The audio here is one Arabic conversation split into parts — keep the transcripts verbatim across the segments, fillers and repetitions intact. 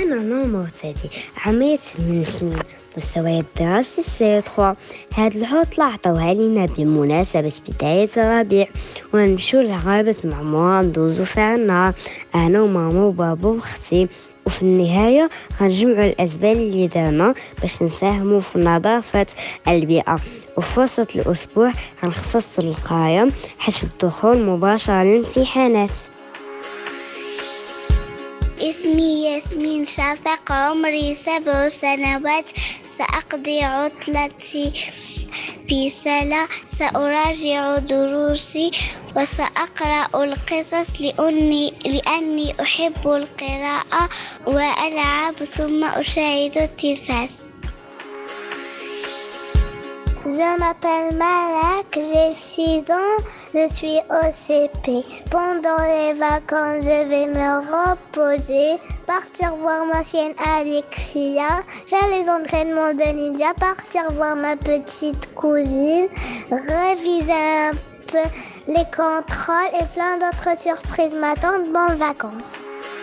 أنا نور مرتدي عمري ثمان سنين، مستواي الدراسي سي ثلاثة. هاد العطلة عطاوها لينا بمناسبة بداية الربيع، ونمشيو للغابة مع ماما ندوزو فيها النهار أنا وماما وبابا وختي، وفي النهاية غنجمعوا الأسباب اللي دارنا باش نساهموا في نظافة البيئة. وفي وسط الأسبوع غنختصوا القراية حيث الدخول مباشرة للامتحانات. اسمي ياسمين شافق، عمري سبع سنوات. سأقضي عطلتي في سلة، سأراجع دروسي وسأقرأ القصص لأني, لأني أحب القراءة، وألعب ثم أشاهد التلفاز. Je m'appelle Malak, j'ai six ans, je suis au C P. Pendant les vacances, je vais me reposer, partir voir ma chienne Alexia, faire les entraînements de ninja, partir voir ma petite cousine, réviser un peu les contrôles et plein d'autres surprises m'attendent. Bonnes vacances.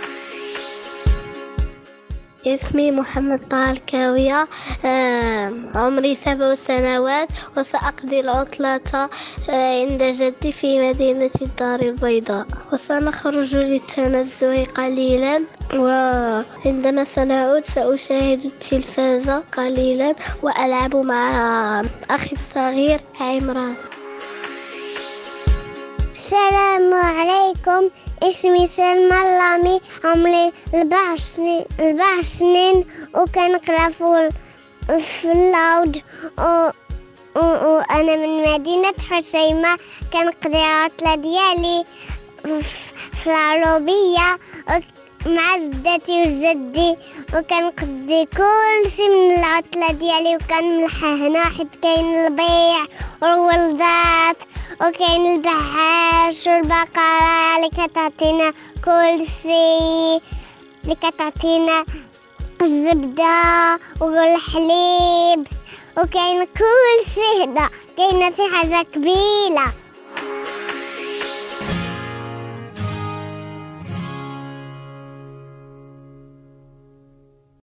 اسمي محمد طه الكاوية، عمري سبع سنوات، وسأقضي العطلة عند جدي في مدينة الدار البيضاء، وسنخرج للتنزه قليلا، وعندما سنعود سأشاهد التلفاز قليلا وألعب مع أخي الصغير عمران. السلام عليكم، اسمي سلمى اللامي، عمري أربع سنين أربع سنين وكنقرا في اللود، وأنا من مدينة حسيمة. كنقضي العطلة ديالي في العروبية مع جدتي وجدي، وكنقضي كل شيء من العطلة ديالي، وكنملح هنا حيت كاين البيع والولدات وكاين البحاش والبقرة اللي كتعطينا كل شيء، اللي كتعطينا الزبدة والحليب، وكاين كل شيء هنا، كاينه شي حاجة كبيرة.